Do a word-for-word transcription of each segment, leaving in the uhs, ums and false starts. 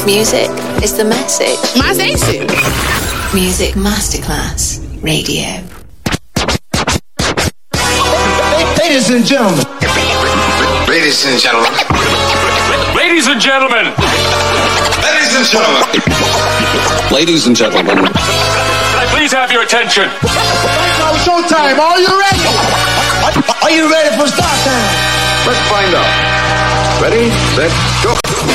Music is the message. My station. Music Masterclass Radio. Ladies and gentlemen. Ladies and gentlemen. Ladies and gentlemen. Ladies and gentlemen. Ladies and gentlemen. Can I please have your attention? Now showtime. Are you ready? Are you ready for start time? Let's find out. Ready, set, go.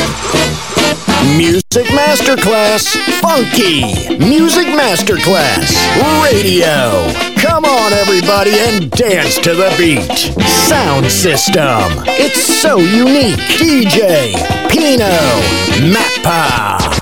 Music Masterclass Funky. Music Masterclass Radio. Come on, everybody, and dance to the beat. Sound system. It's so unique. D J Pino Mappa.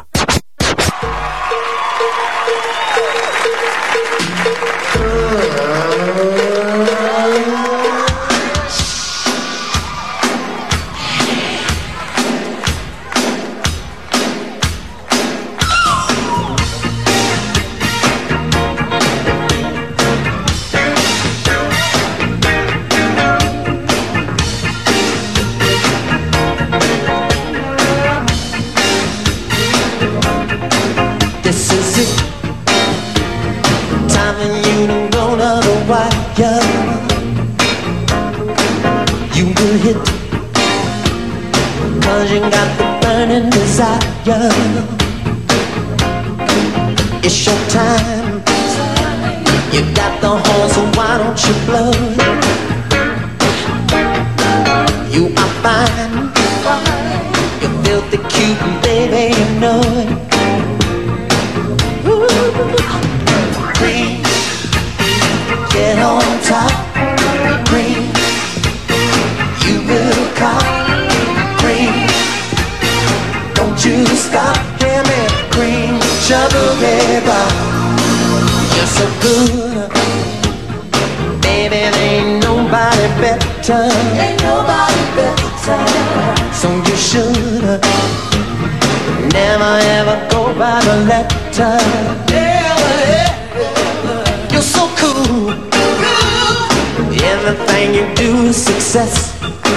It's your time. You got the horn, so why don't you blow? You are fine. You're filthy cute, and baby, you know it. Ooh. Cream, get on top. Cream, you will cop. Cream, don't you stop. Give me cream. Trouble, baby, you're so good, baby. There ain't nobody better, ain't nobody better. So you should never ever go by the letter. Never, ever. You're so cool, cool. Everything you do is success.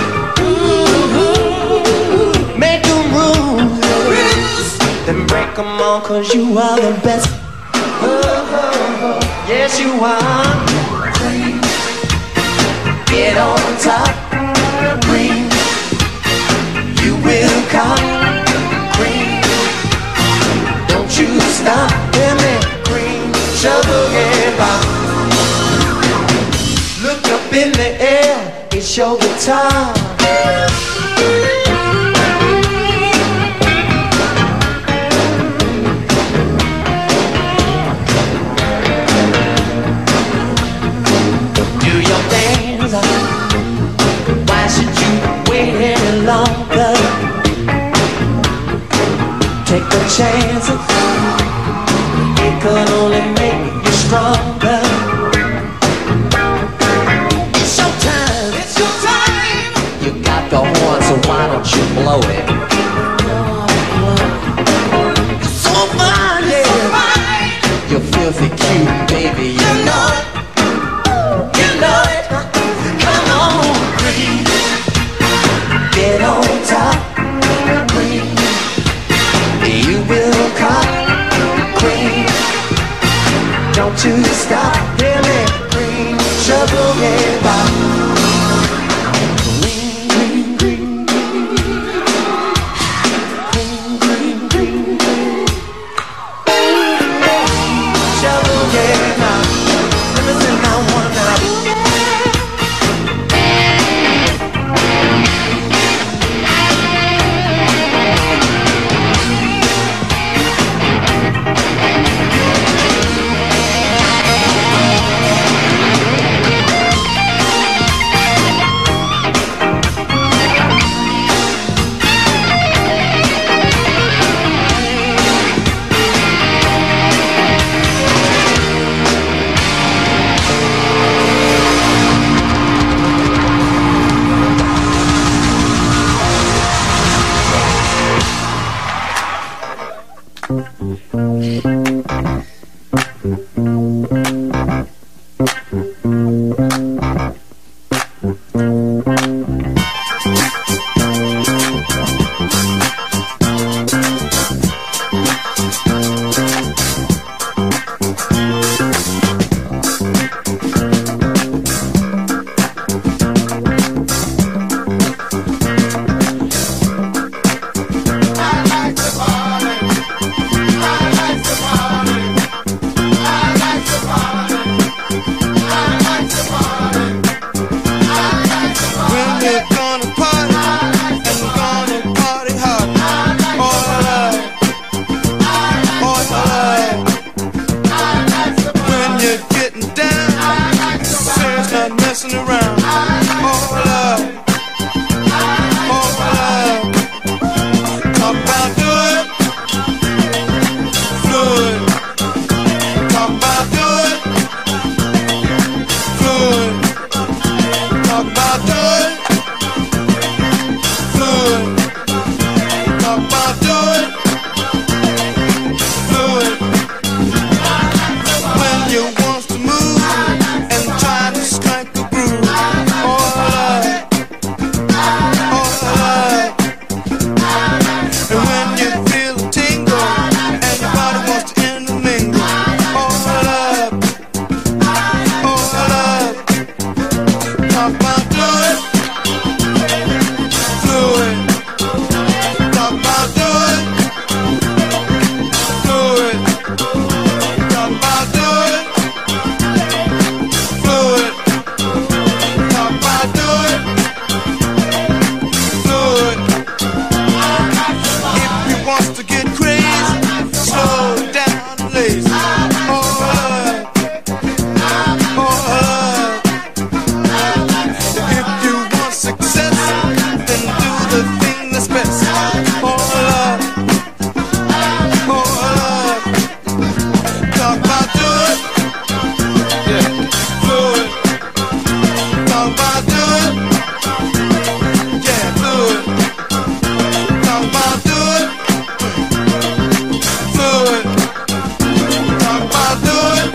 Ooh, make them rules. Then break them all, cause you are the best. Oh, oh, oh. Yes, you are. Cream, get on top. Cream, you will come. Cream, don't you stop. Give me cream, sugar and pop. Look up in the air, it's your guitar. Why should you wait any longer? Take the chances. It could only make you stronger. It's your time. It's your time. You got the horn, so why don't you blow it? You're so fine, yeah. So fine. You're filthy cute, baby. You, you know it. You know it. Get on top, cream. You will cop, cream. Don't you stop, hear me, cream. Trouble get by. Cream, cream, cream. to get crazy, slow down and lazy. Oh, love, oh, love. If you want success, then do the thing that's best. Oh, love, oh, love. Talk about do it, yeah, do it. Talk about do it, yeah, do it. Talk about do it, do it. Talk about do it,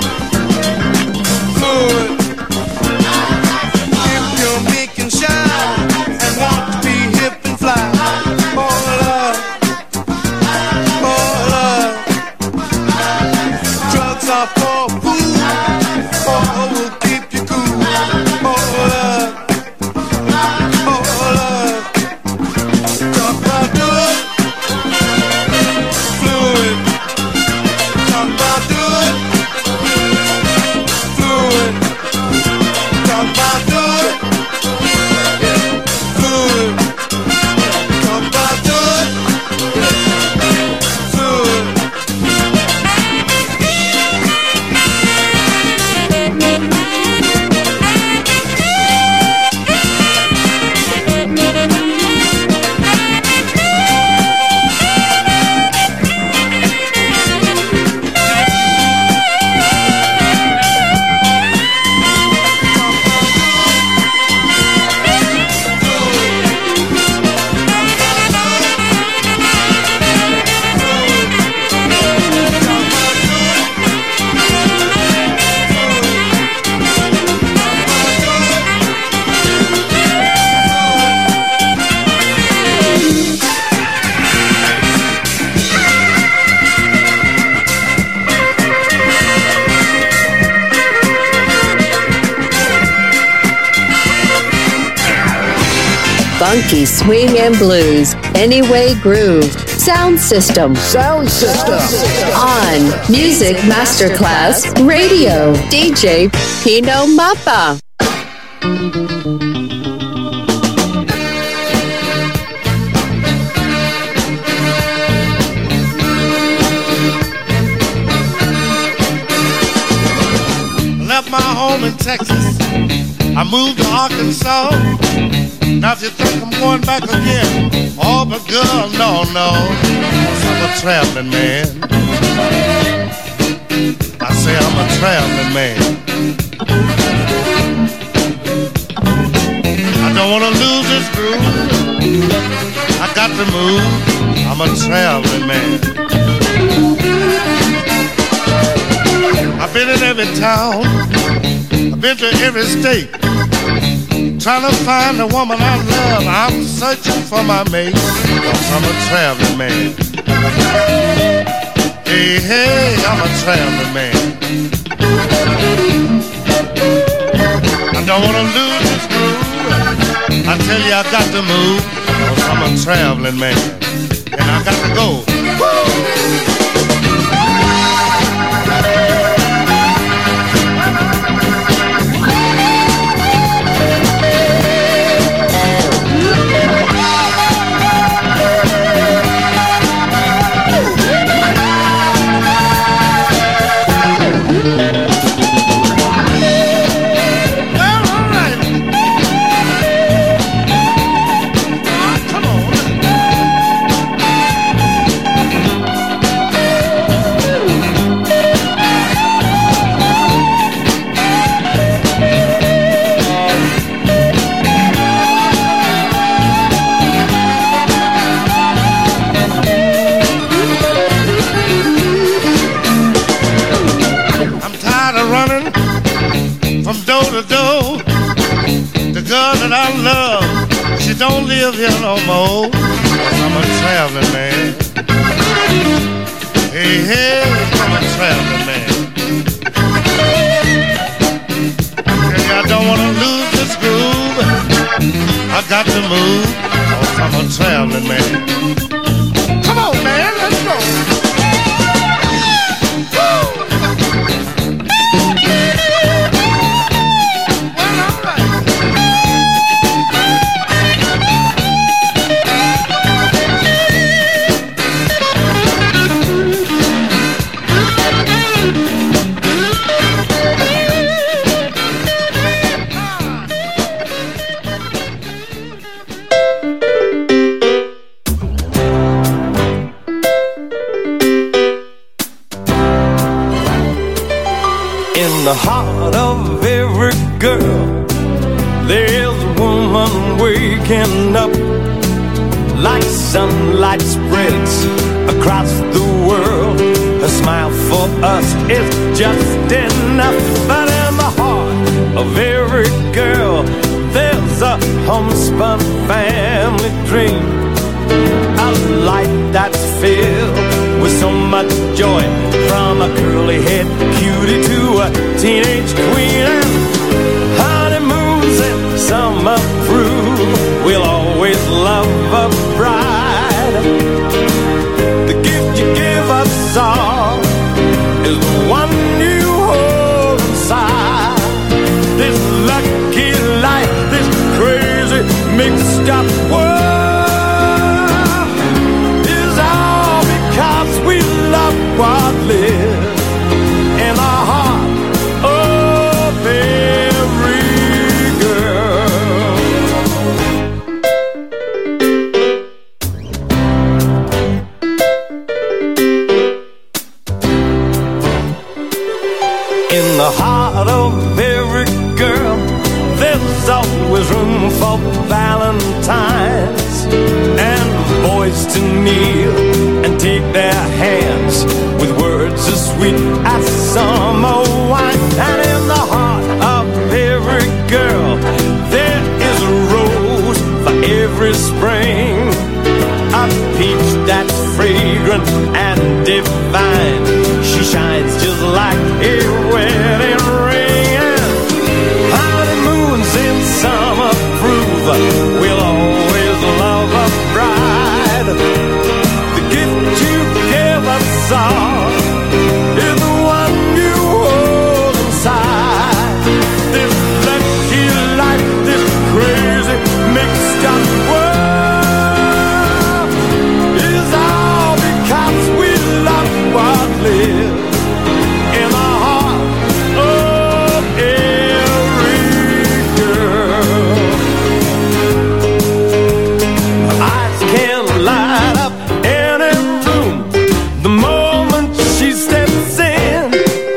do it. If you're making shine and want to be hip and fly, oh love, oh love. Drugs are for food, oh will keep you cool, oh love, oh love. Talk about do it, fluid. Talk about do it, fluid. Talk about do it, fluid. Talk about do it, fluid. Funky swing and blues, Anyway Groove, Sound System, Sound System. on Music Masterclass Radio. D J Pino Mappa. Left my home in Texas, I moved to Arkansas. Now if you think I'm going back again, oh but girl, no, no, 'cause I'm a traveling man. I say I'm a traveling man. I don't wanna lose this groove, I got to move, I'm a traveling man. I've been in every town, I've been to every state, trying to find the woman I love. I'm searching for my mate, 'cause I'm a traveling man. Hey, hey, I'm a traveling man. I don't wanna lose this groove, I tell you I got to move, 'cause I'm a traveling man. And I got to go. Woo! Don't live here no more, 'cause I'm a traveling man. Hey, hey, I'm a traveling man. Hey, I don't wanna lose this groove, I got to move, 'cause I'm a traveling man. Come on, man, let's go. the heart of every girl, there's a woman waking up. Like sunlight spreads across the world, her smile for us is just enough. But in the heart of every girl, there's a homespun family dream, a life that's filled with so much joy, from a curly-haired cutie to a teenage queen. And honeymoons and summer through, we'll always love a bride. The gift you give us all is the one you hold inside. This lucky life, this crazy mixed up world is all because we love what lives in our heart of every girl. In the heart of every girl, there's always room for valentines and boys to kneel and take their hands with words as sweet as summer wine. And in the heart of every girl, there is a rose for every spring, a peach that's fragrant and divine. She shines just like a wedding ring. And honeymoons in summer prove we'll always love a bride. The gift you give us all is the one you hold inside. This lucky life, this crazy mixed up world is all because we love what lives in the heart of every girl. Eyes can light up any room the moment she steps in,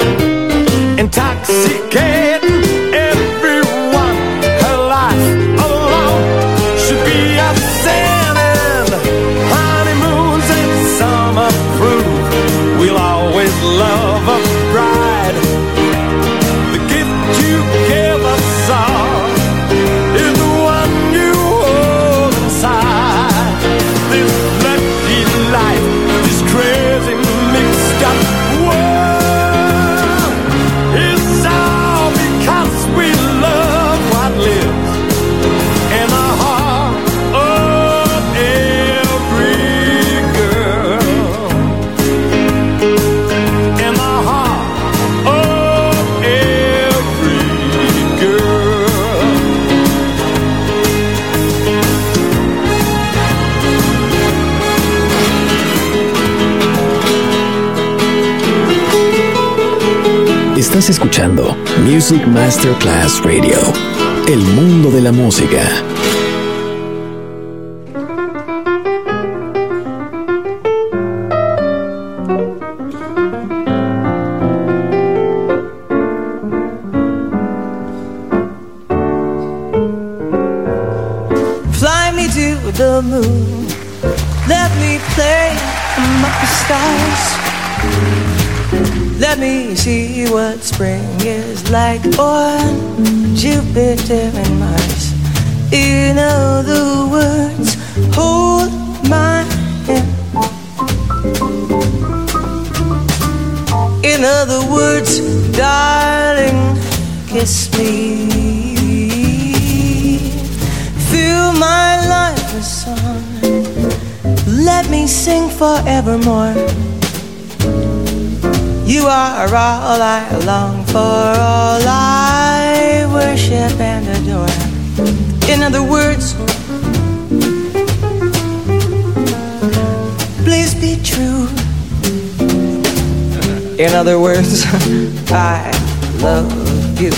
intoxicating everyone. Her life alone should be a sin. And honeymoons in summer prove we'll always love a bride. The gift you give us all is the one you hold inside. This lucky life, this crazy mixed up world is all because we love what lives in the heart of every girl. In the heart of every girl. Estás escuchando Music Masterclass Radio, el mundo de la música. Fly me to the moon, let me play among the stars. Let me see what spring is like on Jupiter and Mars. In other words, hold my hand. In other words, darling, kiss me. Fill my life with song. Let me sing forevermore. You are all I long for, all I worship and adore. In other words, please be true. In other words, I love you.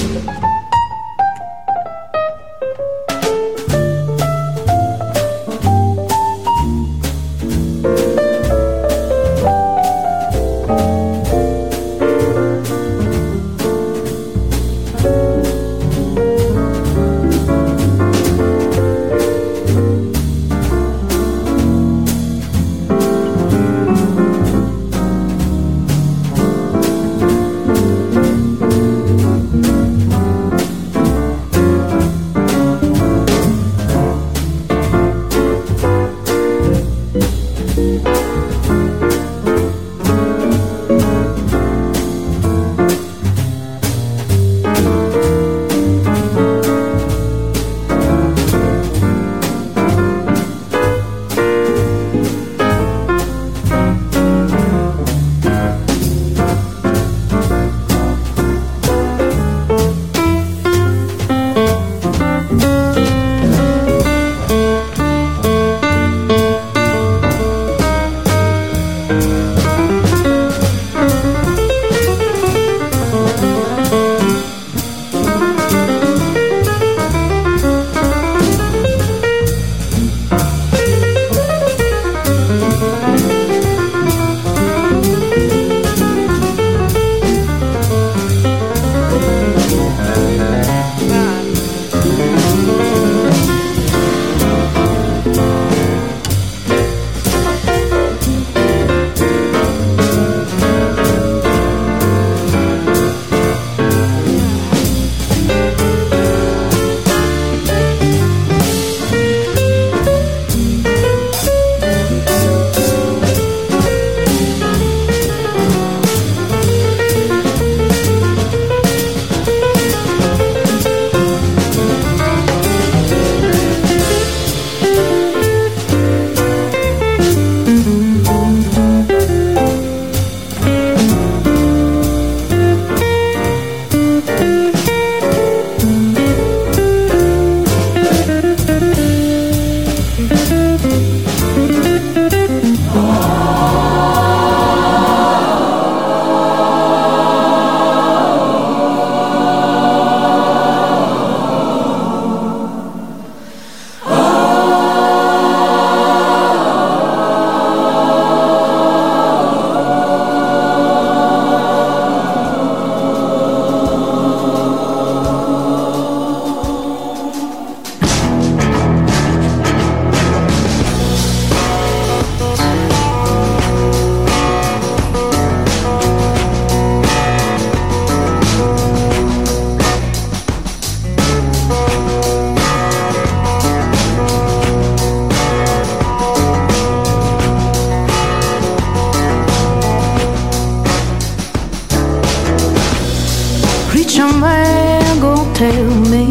tell me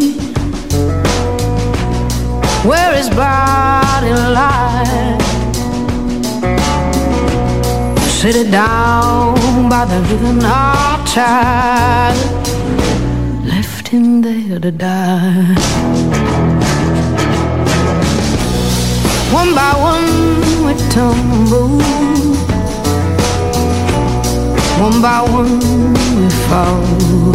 where his body lies. Sit it down by the river, not tired, left him there to die. One by one we tumble, one by one we fall.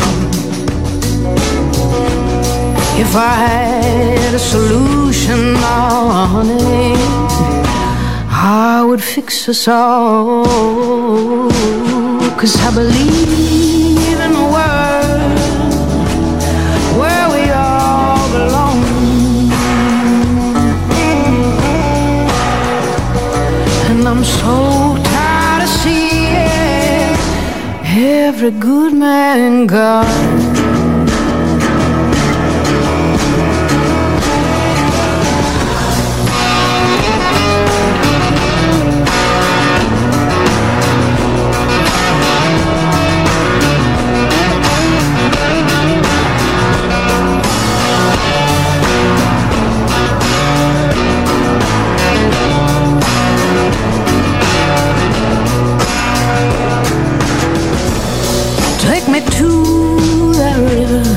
If I had a solution, oh honey, I would fix us all. 'Cause I believe in a world where we all belong. And I'm so tired of seeing every good man gone. Take me to that river,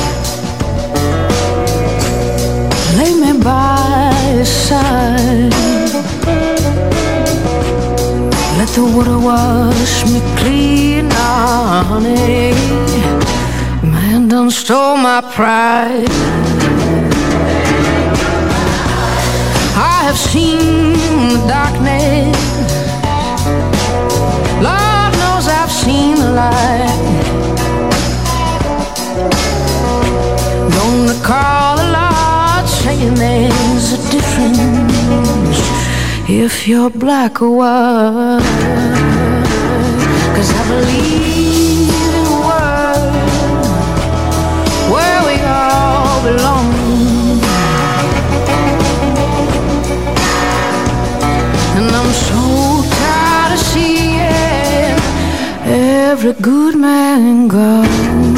lay me by his side, let the water wash me clean, ah, honey. Man done stole my pride. I have seen the darkness, Lord knows I've seen the light. Don't recall the Lord saying there's a difference if you're black or white. 'Cause I believe in a world where we all belong. And I'm so tired of seeing every good man gone.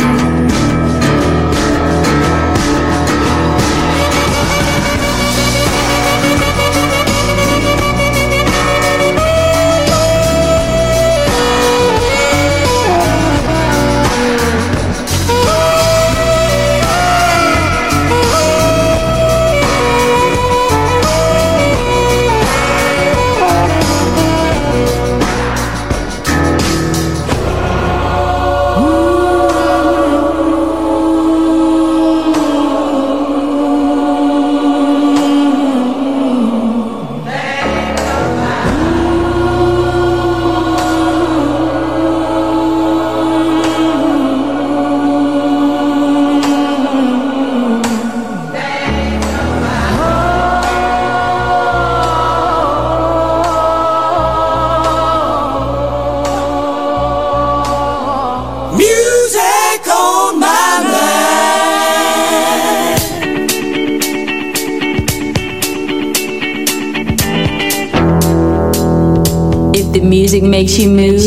The music makes you move.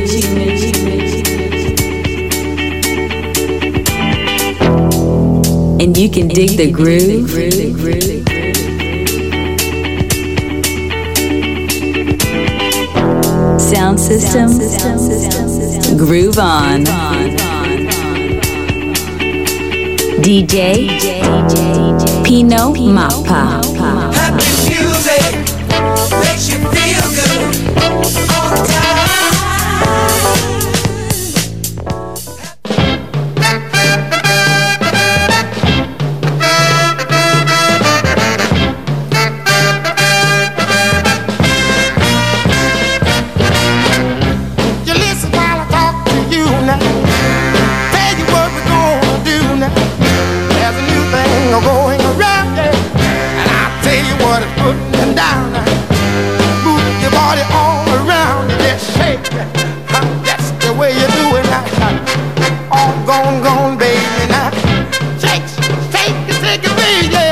And you can dig the groove. Sound system. Groove on. D J Pino Mappa. Happy music makes you feel good all the time. You listen while I talk to you now. Tell you what we're gonna do now. There's a new thing going around there, and I'll tell you what it's putting down now. Move your body all around, just shake it. That's the way you do it now. All gone, gone, baby now. Shake, shake it, shake it, baby.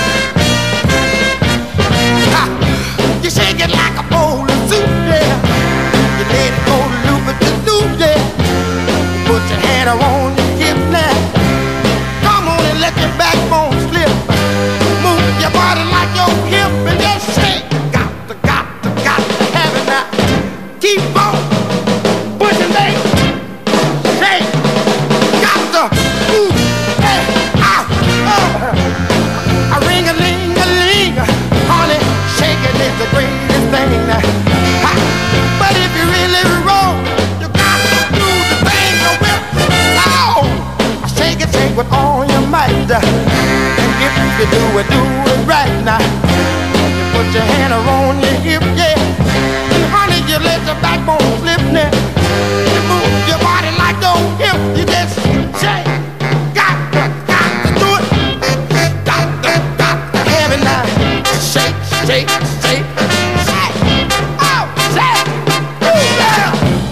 Ah, you shake it like a bowl of soup, yeah. You let it go loop it to loop, yeah. Put your hand on your hip now. Come on and let your backbone slip. Move your body like your hip and just shake. Got to, got to, got to have it now. Keep on pushing, baby. Shake. Got to move. Hey, ah, oh. A ring-a-ling-a-ling. Honey, shaking is the greatest thing. Ha. But if you really roll, you got to do the thing with soul. Shake it, shake with all your might. And if you do it, do it right now. You put your hand around your hip, yeah. And honey, you let your backbone slip now. You move your body like your hip. You just shake. Got to, got to do it. Got to, got to have it now. Shake, shake, shake, shake. Oh, shake. Ooh, yeah.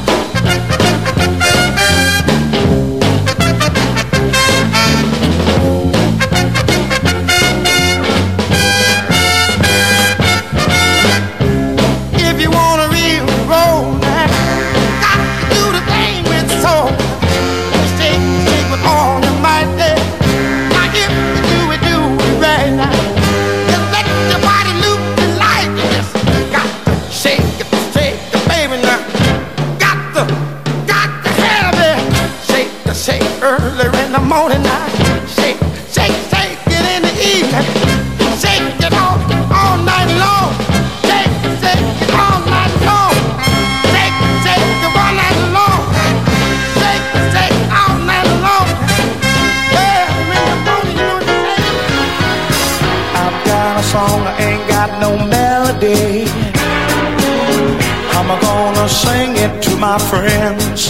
If you want a real roll now, got to do the thing with soul. Shake, shake with all your might there. Now if you do it, do it right now. Just let your body loop the light. You just got to shake it, shake it, baby now. Got to, got to have it. Shake the shake early in the morning now. Shake, shake, shake it in the evening. Shake it all, all night long. Shake, shake it all night long. Shake, shake it all night long. Shake, shake it all night long. Yeah, in the morning you know what you say. I've got a song, I ain't got no melody. I'm gonna sing it to my friends.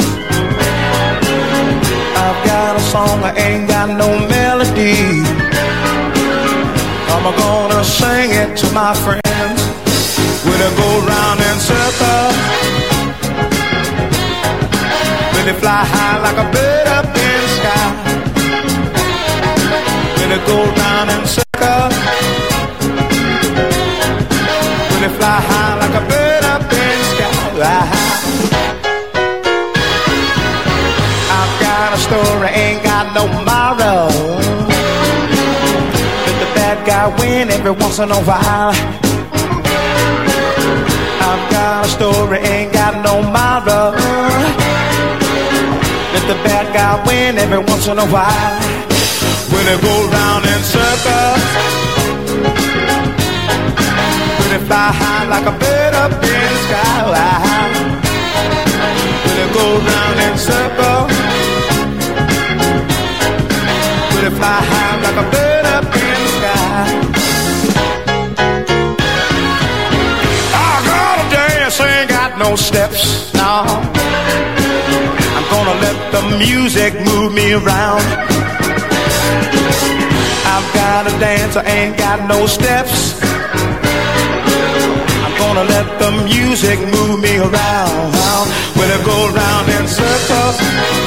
I've got a song, I ain't got no melody. I'm gonna sing it to my friends. When I go round in circles, when they fly high like a bird up in the sky. When I go round in circles, when they fly high like a bird up in the sky. I've got a story, ain't got no moral. Let the bad guy win every once in a while. I've got a story, ain't got no moral. Let the bad guy win every once in a while. When they go round in circles, when they fly high like a bird up in the sky. When they go round in circles, when they fly high like a bird up in the sky. I gotta dance, ain't got no steps, no. I'm gonna let the music move me around. I've got to dance, I ain't got no steps. I'm gonna let the music move me around. When I go round in circles,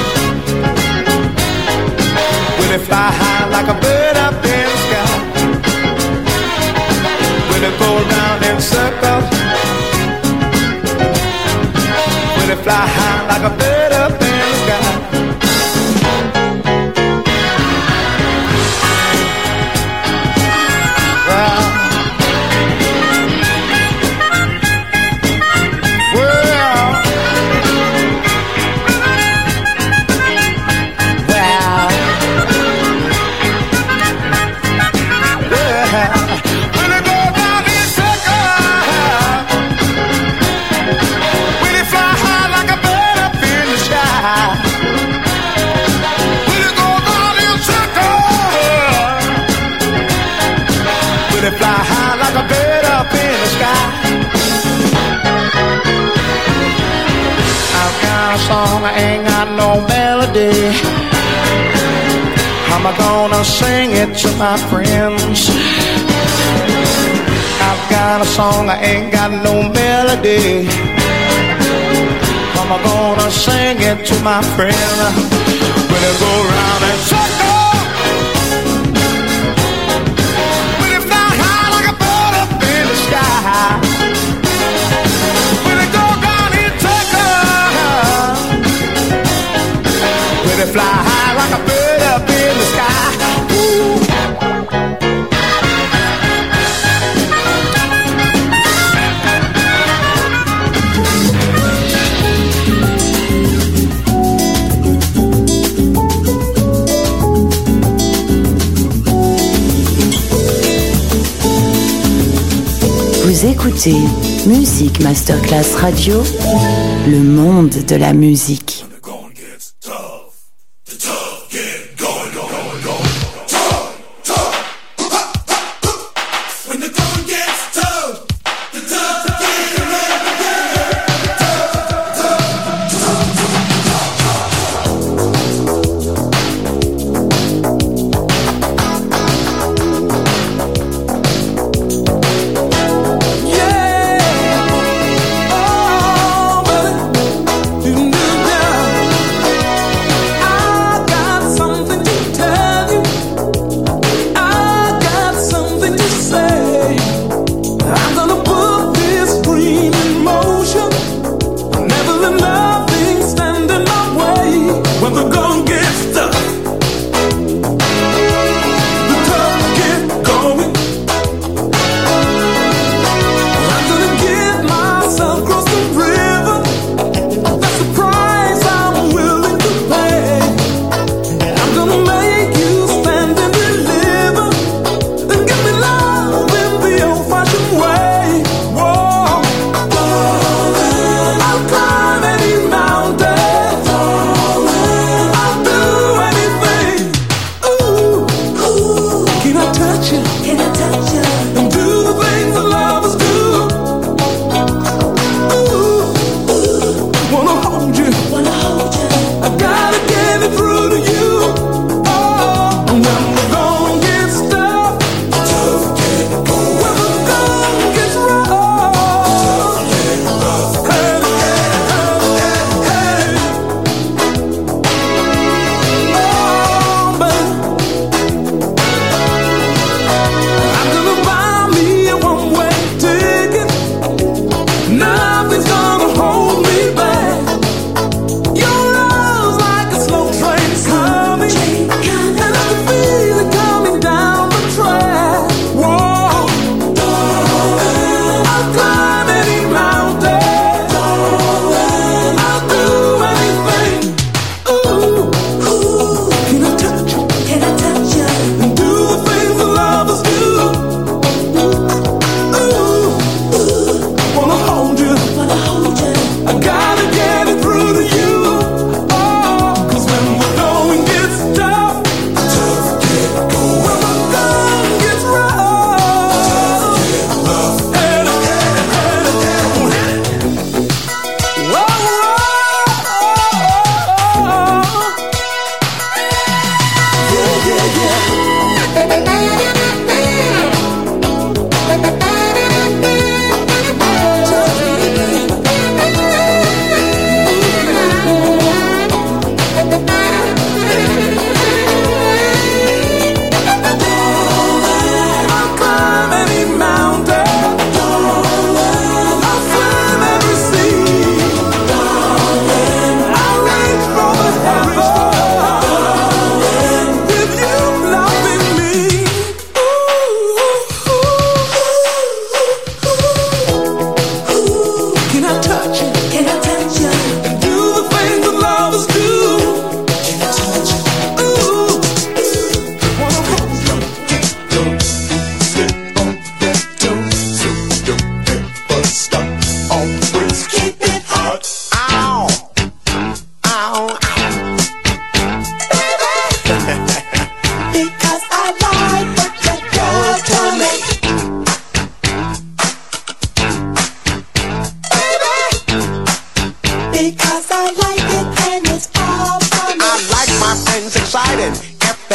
when I fly high like a bird up in the sky. When I go round in circles, fly high like a bird up in the sky. Fly high like a bird up in the sky. I've got a song, I ain't got no melody. How am I gonna sing it to my friends? I've got a song, I ain't got no melody. How am I gonna sing it to my friends? When it go round and circle. When it go down in Tucker, when it fly high like a bird up in the sky. Ooh. Vous écoutez Music Masterclass Radio, le monde de la musique. Yeah, oh, brother, do do do.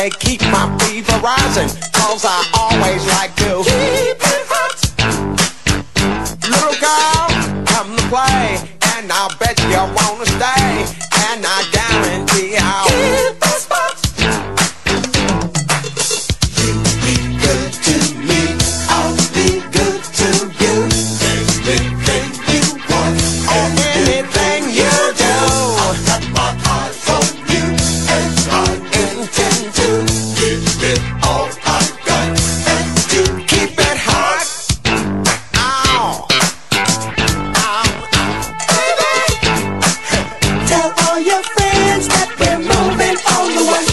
they keep my fever rising, cause I always like to keep it hot. Little girl, come to play, and I'll bet you wanna stay, and I guarantee I'll keep the spot. You be good to me, I'll be good to you. Anything you want, and anything you do, I've got my eyes on you, and I intend to give it all I've got, and to keep it hot. Ow, ow, baby. Tell all your friends that we're moving on the way.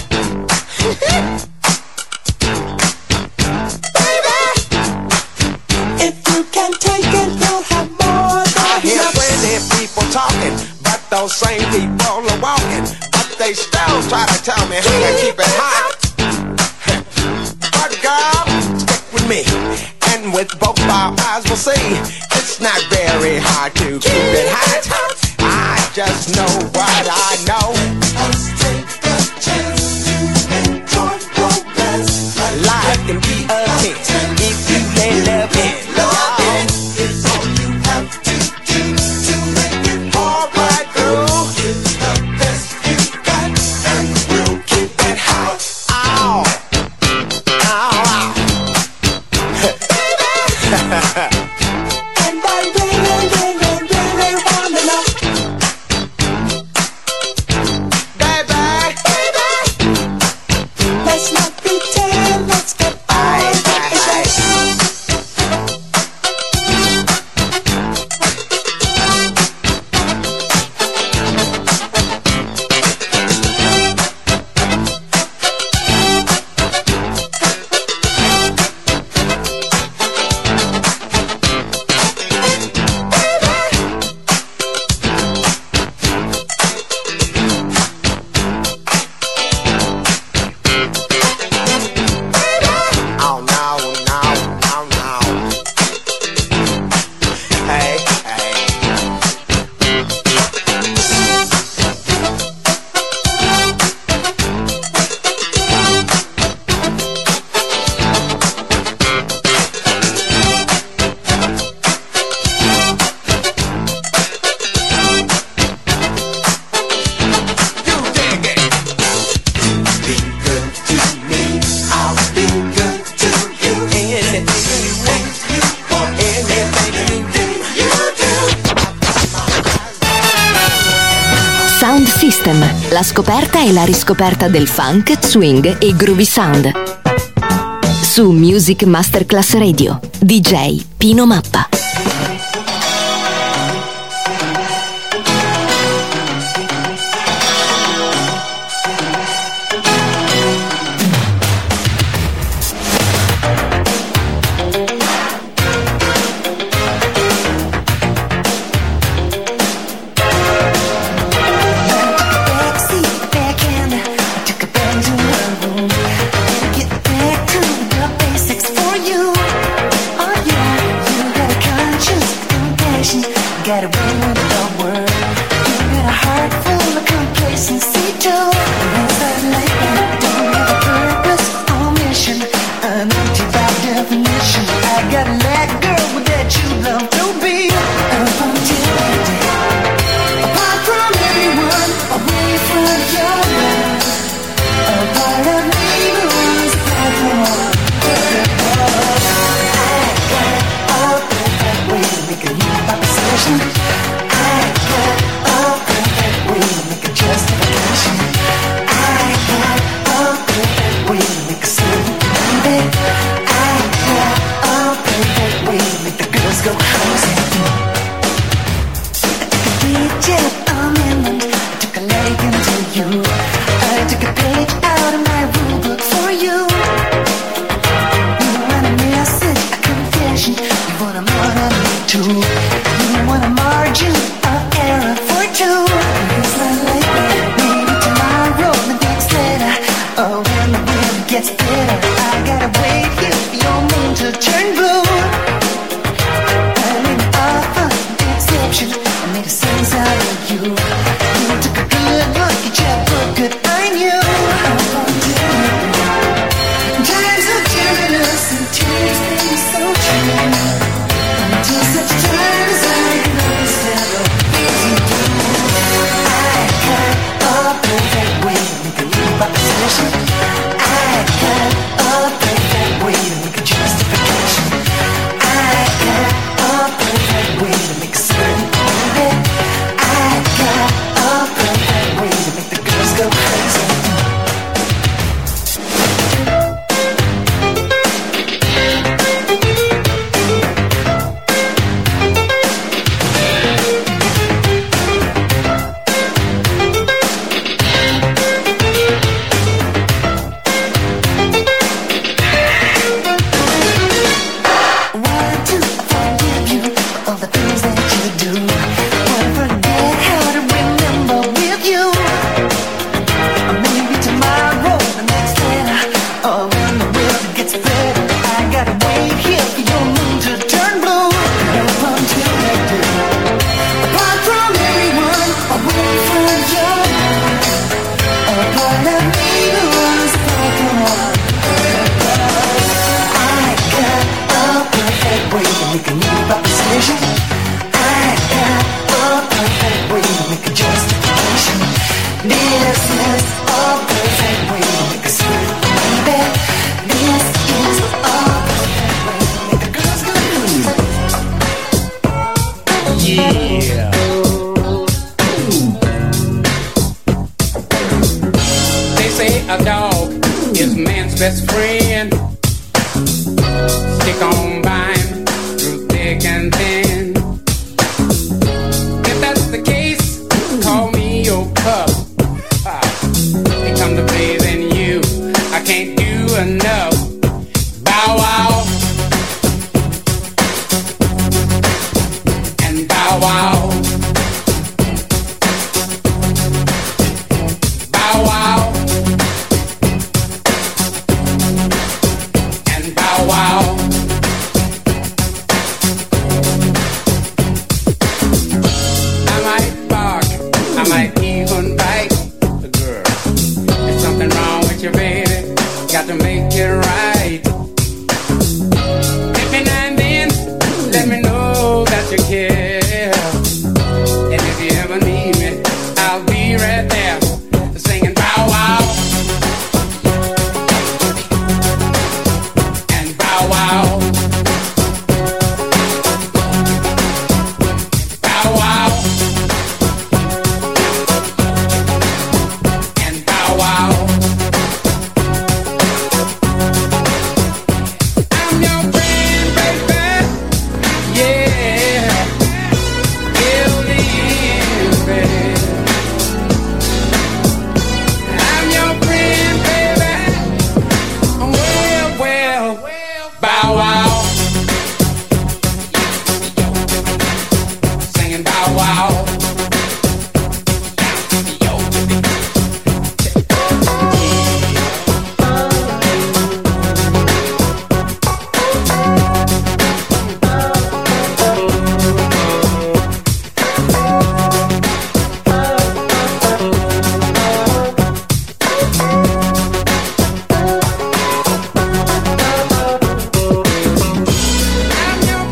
Baby, if you can take it, you'll have more than I hear plenty of people talking, but those same people are walking, but they still try to tell me how to keep it hot. But girl, stick with me, and with both our eyes we'll see it's not very hard to keep it hot. I just know what I know. Let's take a chance to enjoy romance. Life can be a hit if you let love it. Love is all you have to do to make it all right through. It's the best you got, and we'll keep it hot. Ow, ow, ow. And I really, really, really wanna know, baby, baby, let's not pretend, let's get on with the show. Oh no, no, no, no. Hey, hey. You dig it. Be good to me, I'll be good to you. Anything you want, you want, anything you do, you do. Sound System, la scoperta e la riscoperta del funk, swing e groovy sound. Su Music Masterclass Radio, D J Pino Mappa. Backseat, backhand, I took a bend to my room. Get back to the basics for you. Oh yeah, you got a conscience, compassion, got a ring with the word. You got a heart full of complacency too. As I lay back, don't have a purpose or mission. I'm empty by definition. I got a that girl with that you love to be. Up until that day, apart from everyone, away from your love, a part of me was that one. I got a perfect way to make a new proposition. I got a perfect way to make a justification. I got a perfect way to make a certain baby. I got a perfect way to make the girls go crazy. Jet on inland, I took a leg into you. I took a page out of my rule book for you. You want a message, a confession. You want a more of me too. You want a margin of error for two. It's not like that. Maybe tomorrow, the next letter. Oh, when the wind gets better, I gotta wait here for your moon to turn blue. I made an offer, an exception. I made a sense out of you. You took a good look at your book, good I knew. I wanted you. best friend. Stick on by him through thick and thin. If that's the case, call me your pup. They come to bathe in you, I can't do enough. Bow wow and bow wow. Bow wow and bow wow. I might bark, I might even bite the girl. There's something wrong with you, baby. Got to make it right. Every now and then, let me know that you care. And if you ever need me, I'll be right there, singing bow wow and bow wow. Bow wow and bow wow. I'm your friend, baby. Yeah, till the end, baby. I'm your friend, baby. Well, well, bow wow. Singing bow wow. I'm your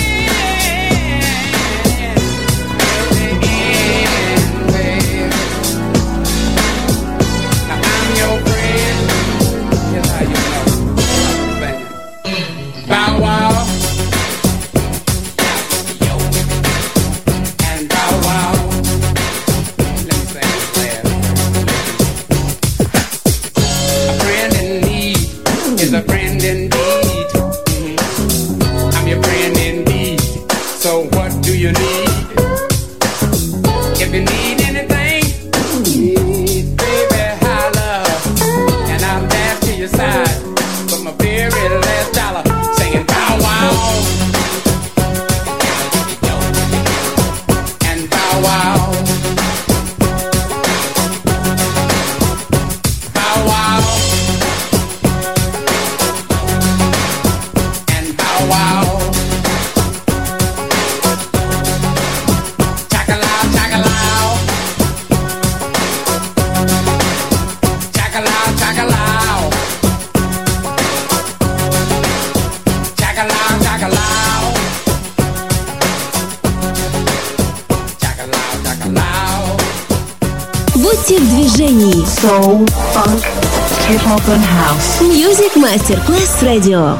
Будьте в движении. Soul, funk, hip-hop and house. Music Masterclass Radio.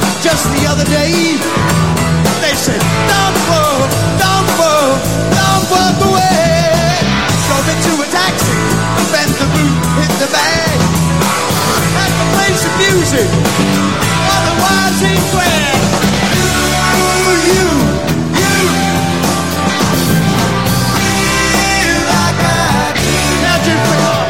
just the other day. They said, don't walk, don't walk, don't walk away. Drove into a taxi, bent the boot, hit the bag. Had to play some music, otherwise he'd drag. You, you, you, feel like I do. Now just pick up.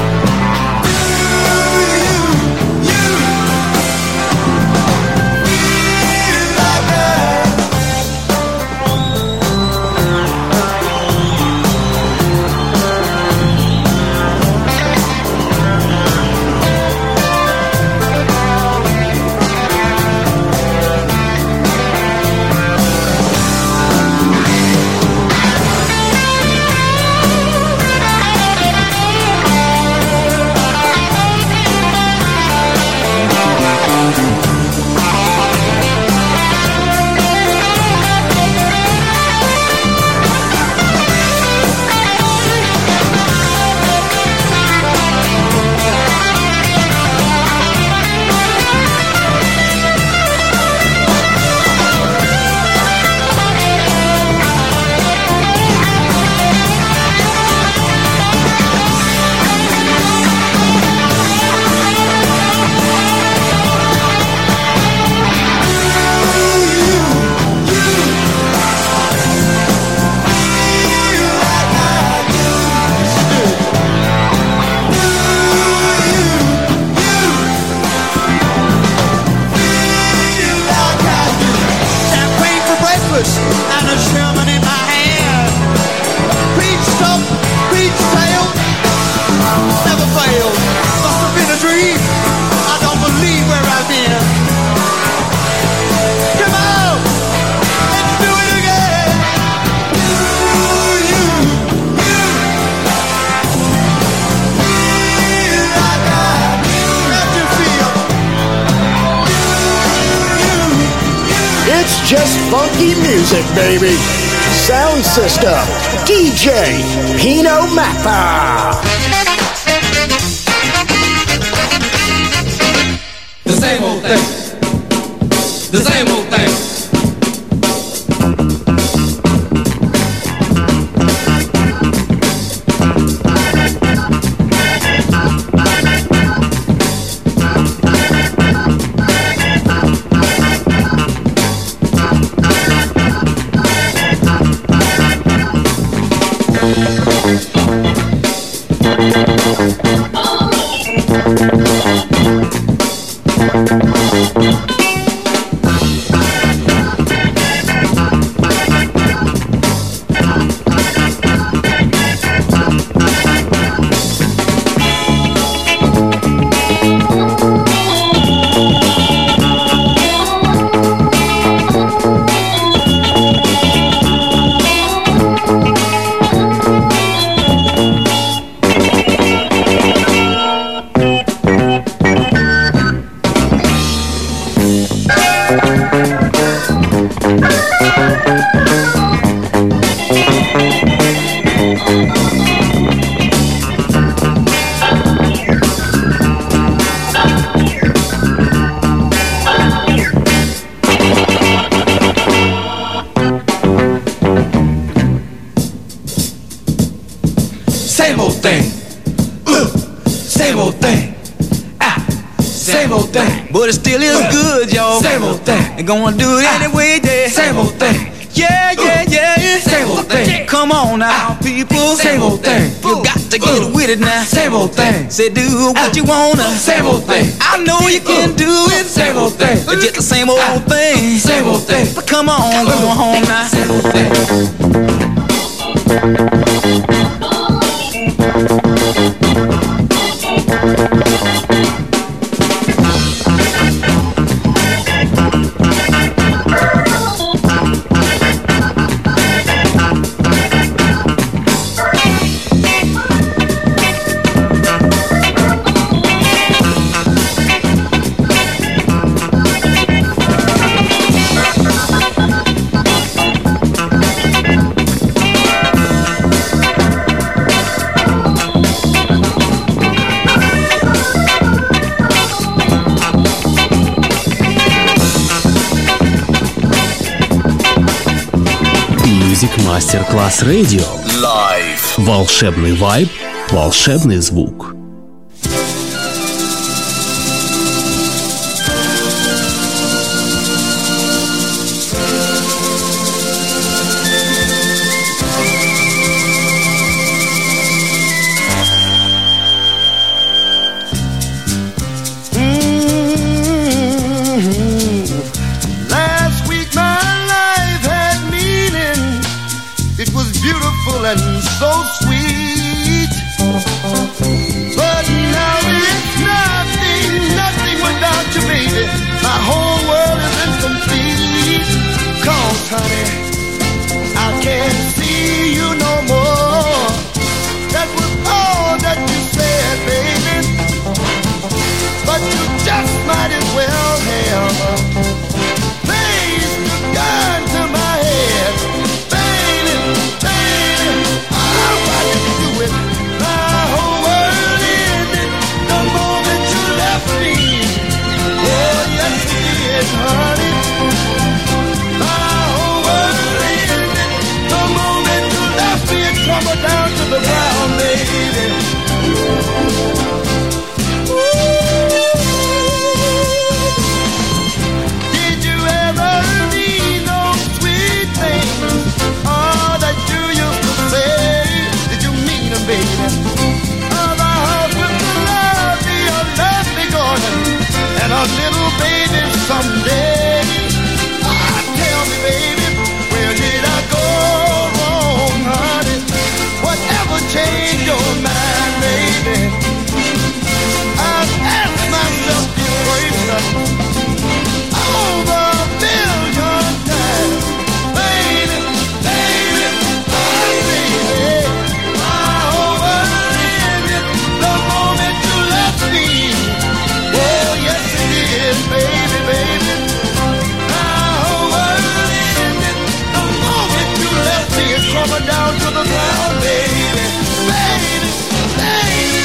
And a Sherman in my hand. Peach top, peach tail, never failed. Must have been a dream. I don't believe where I've been. Come on, let's do it again. You, you, you, feel like I do. How'd you feel? You, you, you. It's just funky music, baby. Sound System, D J Pino Mappa. The same old thing. The same old thing. Same old thing. Uh, same old thing. Ah, same old thing. But it still is uh, good, y'all. Same old thing. And gonna do it ah, anyway, yeah. Same old thing. Yeah, yeah, yeah, yeah. Same old thing. Come on now, ah, people. Same old thing. You got to get uh, with it now. Same old thing. Say do what you wanna. Same old thing. I know you can do it. Same old thing. It's just the same old ah, thing. Same old thing. But come on, go home now. Same old thing. Music Masterclass Radio. Live. Волшебный вайб, волшебный звук. And so sweet, but now it's nothing, nothing without you, baby. My whole world is incomplete. 'Cause, honey, I can't see you no more. That was all that you said, baby. But you just might as well have placed a gun to my head. Honey, my whole world ended the moment you left me and crumbled down to the ground, baby. Did you ever need those sweet things? All that you used to say, did you mean them, baby? Oh, the house with the lovely, a lovely garden and a little baby someday. Ah, tell me, baby, where did I go wrong, honey? Whatever changed your mind, baby? I've asked myself this question over a million times, baby, baby, oh, baby. My whole world ended the moment you left me. Oh, yes it is, baby, baby. My whole world ended the moment you left me and crumbled down to the ground, baby, baby, baby.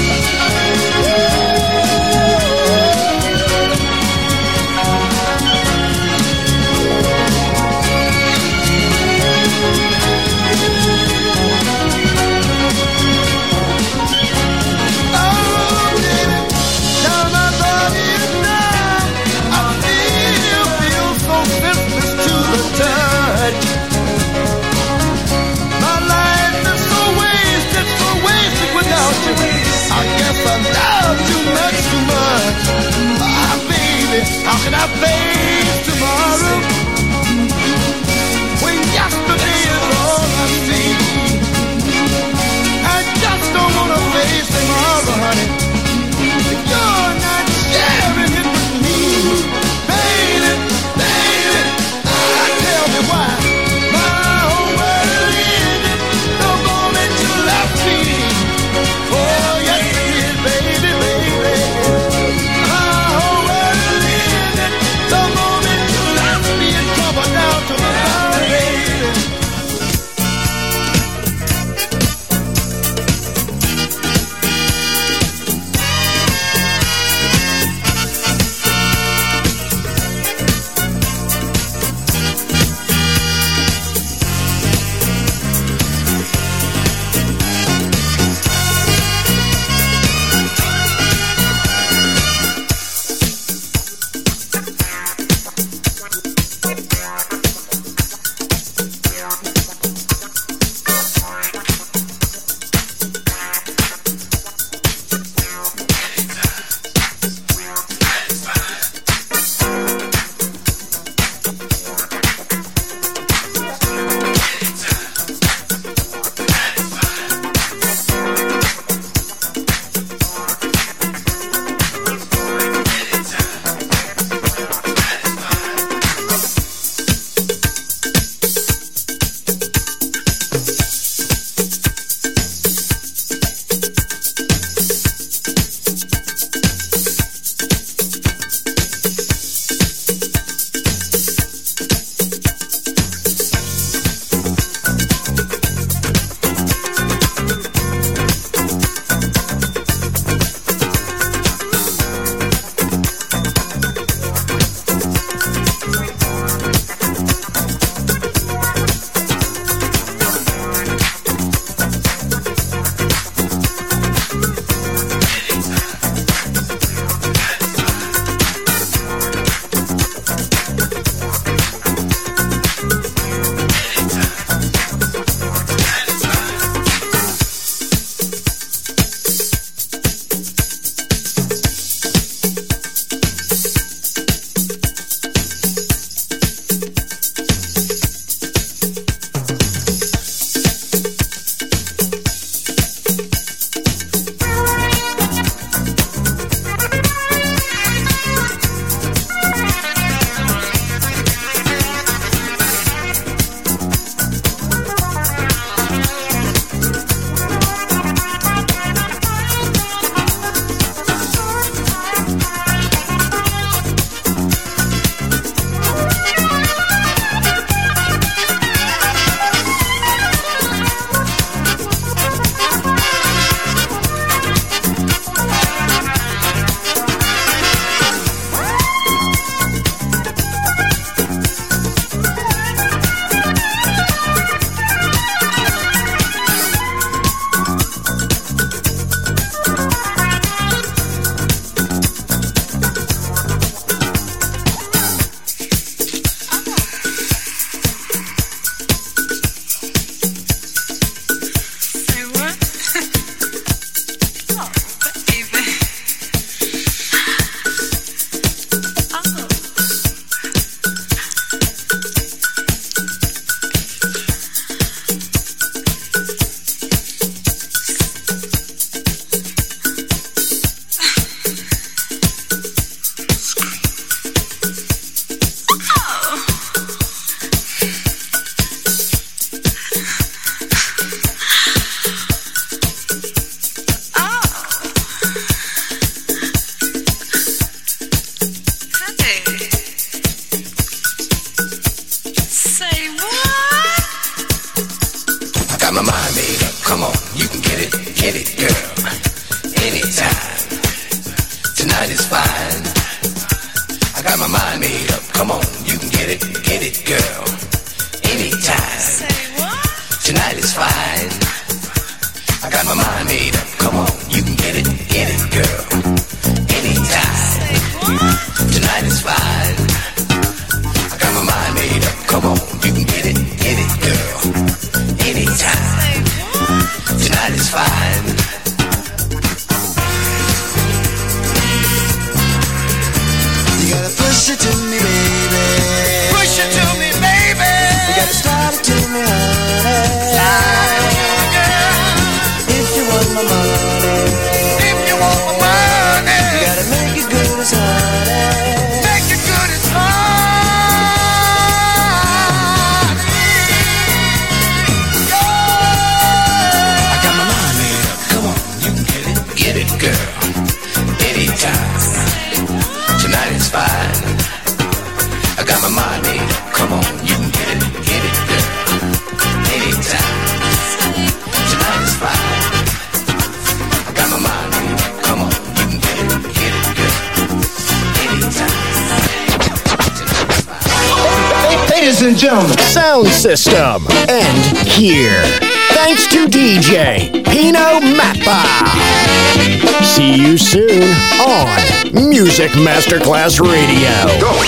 I guess I love too much, too much. Ah, baby, how can I face tomorrow when yesterday is all I see? I just don't wanna face tomorrow, honey. You're not sharing it with me, baby, baby. Ah, tell me why. My whole world ended the moment you left me. Oh, yes it is, baby, baby. My whole world ended the moment you left me and crumbled down to the ground, baby. my mind made up. Come on, you can get it, get it, girl. Anytime. Tonight is fine. I got my mind made up. Come on, you can get it, get it, girl. Anytime. Tonight is fine. I got my mind made up. Come on, you can get it, get it, girl. Anytime. Tonight is fine. I got my mind made up. Come on, you can get it, get it, girl. Anytime. Tonight is fine. You gotta push it to me, baby. Push it to me, baby. You gotta start it to me, honey. Start it to me, girl. If you want my money. If you want my money. You gotta make it good as honey. Make it good as honey. I got my mind made up. Come on, you can get it, get it, girl. Anytime. Tonight is fine. I got my mind made up. Come on, you can get it, get it, girl. Anytime. Tonight is fine. I got my mind made up. Come on, you can get it, get it, girl. Anytime. Ladies and gentlemen, Sound System. And here, thanks to D J Pino Mappa. See you soon on Music Masterclass Radio. Go.